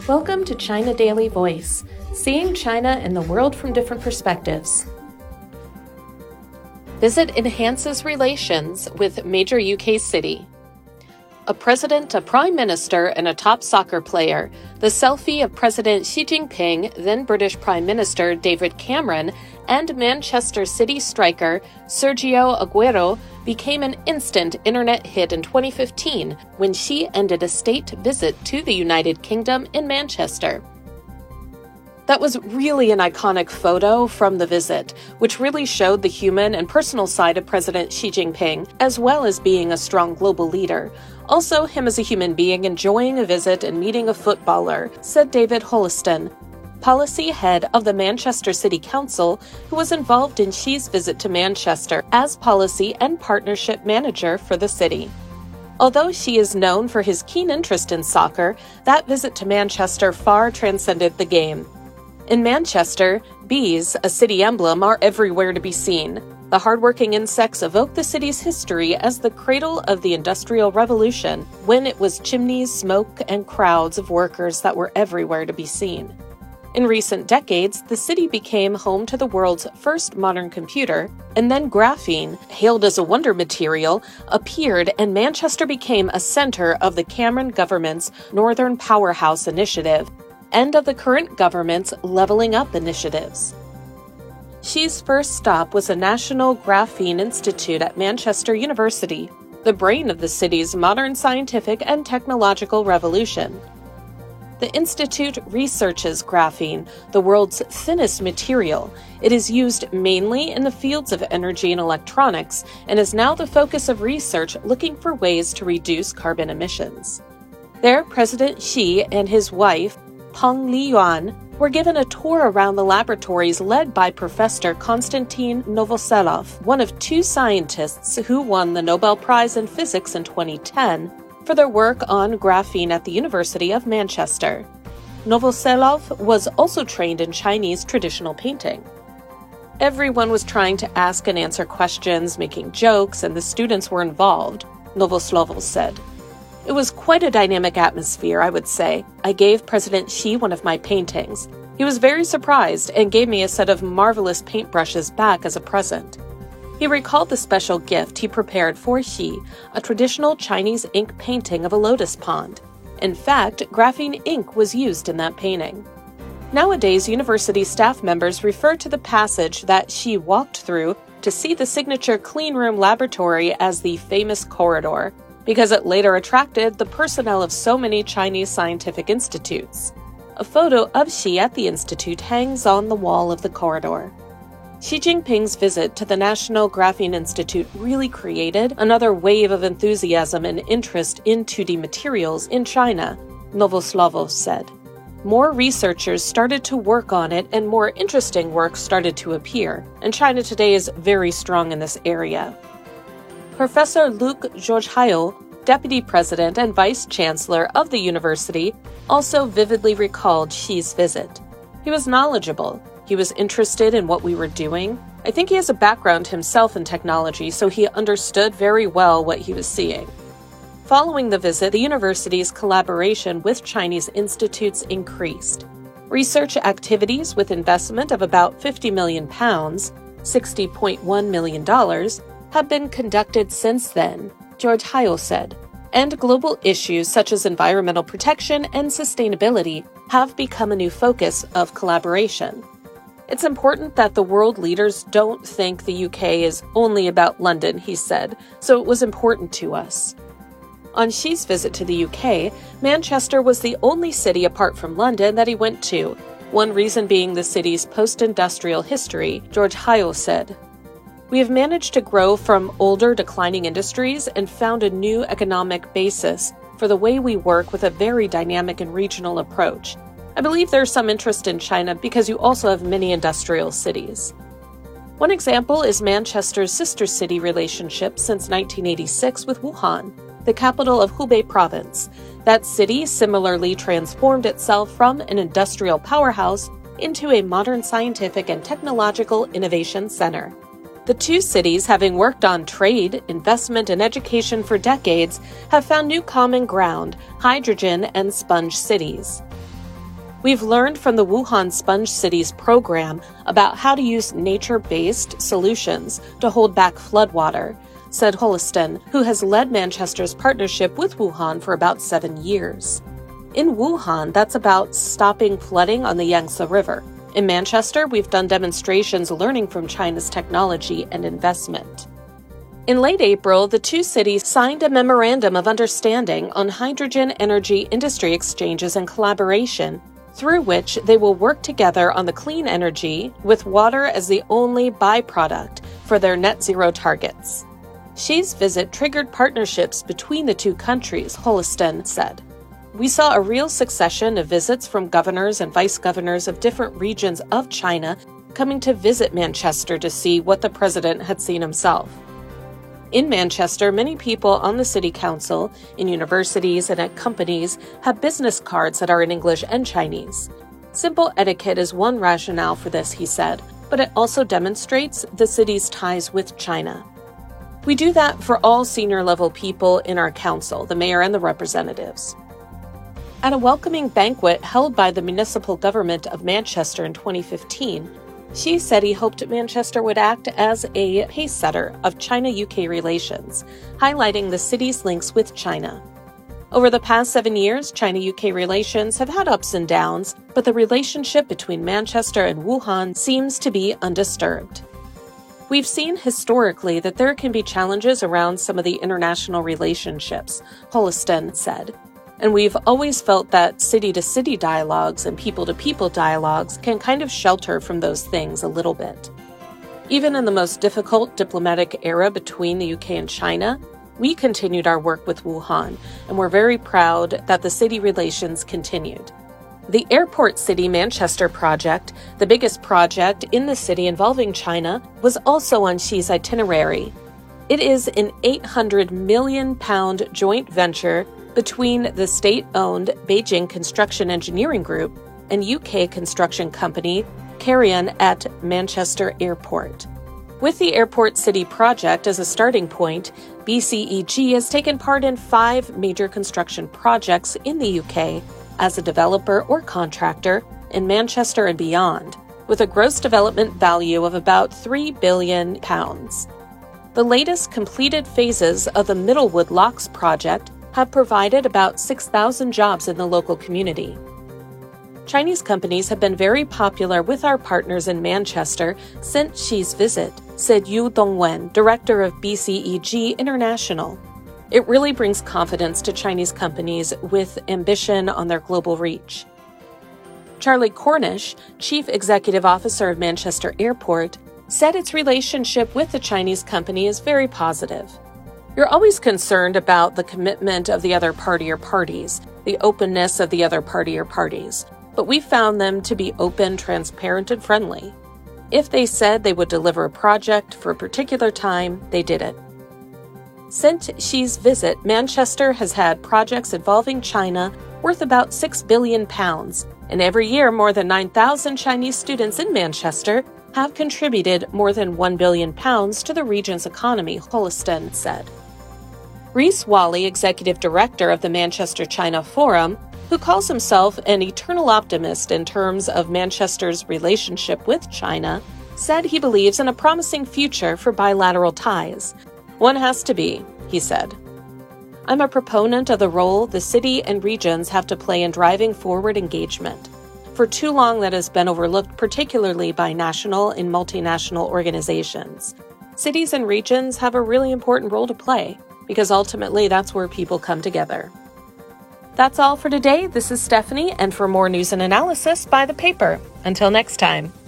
Welcome to China Daily Voice, seeing China and the world from different perspectives. Visit enhances relations with major UK city. A president, a prime minister, and a top soccer player, the selfie of President Xi Jinping, then British Prime Minister David Cameron, and Manchester City striker Sergio Aguero became an instant internet hit in 2015 when Xi ended a state visit to the United Kingdom in Manchester. That was really an iconic photo from the visit, which really showed the human and personal side of President Xi Jinping, as well as being a strong global leader. Also, him as a human being enjoying a visit and meeting a footballer, said David Holliston, policy head of the Manchester City Council, who was involved in Xi's visit to Manchester as policy and partnership manager for the city. Although Xi is known for his keen interest in soccer, that visit to Manchester far transcended the game. In Manchester, bees, a city emblem, are everywhere to be seen. The hardworking insects evoke the city's history as the cradle of the Industrial Revolution, when it was chimneys, smoke, and crowds of workers that were everywhere to be seen. In recent decades, the city became home to the world's first modern computer, and then graphene, hailed as a wonder material, appeared, and Manchester became a center of the Cameron government's Northern Powerhouse Initiative, and of the current government's Leveling Up initiatives. Xi's first stop was a National Graphene Institute at Manchester University, the brain of the city's modern scientific and technological revolution. The institute researches graphene, the world's thinnest material. It is used mainly in the fields of energy and electronics, and is now the focus of research looking for ways to reduce carbon emissions. There, President Xi and his wife, Peng Liyuan, were given a tour around the laboratories led by Professor Konstantin Novoselov, one of two scientists who won the Nobel Prize in Physics in 2010 for their work on graphene at the University of Manchester. Novoselov was also trained in Chinese traditional painting. Everyone was trying to ask and answer questions, making jokes, and the students were involved, Novoselov said. It was quite a dynamic atmosphere, I would say. I gave President Xi one of my paintings. He was very surprised and gave me a set of marvelous paintbrushes back as a present. He recalled the special gift he prepared for Xi, a traditional Chinese ink painting of a lotus pond. In fact, graphene ink was used in that painting. Nowadays, university staff members refer to the passage that Xi walked through to see the signature cleanroom laboratory as the famous corridor, because it later attracted the personnel of so many Chinese scientific institutes. A photo of Xi at the institute hangs on the wall of the corridor. Xi Jinping's visit to the National Graphene Institute really created another wave of enthusiasm and interest in 2D materials in China, Novoselov said. More researchers started to work on it and more interesting work started to appear, and China today is very strong in this area. Professor Luc Georges-Haillot, deputy president and vice chancellor of the university, also vividly recalled Xi's visit. He was knowledgeable. He was interested in what we were doing. I think he has a background himself in technology, so he understood very well what he was seeing. Following the visit, the university's collaboration with Chinese institutes increased. Research activities with investment of about £50 million, $60.1 million, have been conducted since then, Georges-Haillot said, and global issues such as environmental protection and sustainability have become a new focus of collaboration. It's important that the world leaders don't think the UK is only about London, he said, so it was important to us. On Xi's visit to the UK, Manchester was the only city apart from London that he went to, one reason being the city's post-industrial history, Georges-Haillot said. We have managed to grow from older declining industries and found a new economic basis for the way we work with a very dynamic and regional approach. I believe there's some interest in China because you also have many industrial cities. One example is Manchester's sister city relationship since 1986 with Wuhan, the capital of Hubei province. That city similarly transformed itself from an industrial powerhouse into a modern scientific and technological innovation center. The two cities, having worked on trade, investment, and education for decades, have found new common ground, hydrogen and sponge cities. We've learned from the Wuhan Sponge Cities program about how to use nature-based solutions to hold back floodwater, said Holliston, who has led Manchester's partnership with Wuhan for about 7 years. In Wuhan, that's about stopping flooding on the Yangtze River. In Manchester, we've done demonstrations learning from China's technology and investment. In late April, the two cities signed a memorandum of understanding on hydrogen energy industry exchanges and collaboration, through which they will work together on the clean energy, with water as the only byproduct for their net zero targets. Xi's visit triggered partnerships between the two countries, Holliston said. We saw a real succession of visits from governors and vice governors of different regions of China coming to visit Manchester to see what the president had seen himself. In Manchester, many people on the city council, in universities, and at companies have business cards that are in English and Chinese. Simple etiquette is one rationale for this, he said, but it also demonstrates the city's ties with China. We do that for all senior-level people in our council, the mayor and the representatives. At a welcoming banquet held by the municipal government of Manchester in 2015, Xi said he hoped Manchester would act as a pace-setter of China-UK relations, highlighting the city's links with China. Over the past 7 years, China-UK relations have had ups and downs, but the relationship between Manchester and Wuhan seems to be undisturbed. We've seen historically that there can be challenges around some of the international relationships, Holliston said. And we've always felt that city-to-city dialogues and people-to-people dialogues can kind of shelter from those things a little bit. Even in the most difficult diplomatic era between the UK and China, we continued our work with Wuhan, and we're very proud that the city relations continued. The Airport City Manchester project, the biggest project in the city involving China, was also on Xi's itinerary. It is an £800 million joint venture between the state-owned Beijing Construction Engineering Group and UK construction company Carian at Manchester Airport. With the Airport City project as a starting point, BCEG has taken part in 5 major construction projects in the UK as a developer or contractor in Manchester and beyond, with a gross development value of about £3 billion. The latest completed phases of the Middlewood Locks project have provided about 6,000 jobs in the local community. Chinese companies have been very popular with our partners in Manchester since Xi's visit, said Yu Dongwen, director of BCEG International. It really brings confidence to Chinese companies with ambition on their global reach. Charlie Cornish, chief executive officer of Manchester Airport, said its relationship with the Chinese company is very positive. You're always concerned about the commitment of the other party or parties, the openness of the other party or parties, but we found them to be open, transparent, and friendly. If they said they would deliver a project for a particular time, they did it. Since Xi's visit, Manchester has had projects involving China worth about £6 billion, and every year more than 9,000 Chinese students in Manchester have contributed more than £1 billion to the region's economy, Holliston said. Reese Wally, executive director of the Manchester China Forum, who calls himself an eternal optimist in terms of Manchester's relationship with China, said he believes in a promising future for bilateral ties. One has to be, he said. I'm a proponent of the role the city and regions have to play in driving forward engagement. For too long, that has been overlooked, particularly by national and multinational organizations. Cities and regions have a really important role to play, because ultimately that's where people come together. That's all for today. This is Stephanie, and for more news and analysis, buy the paper. Until next time.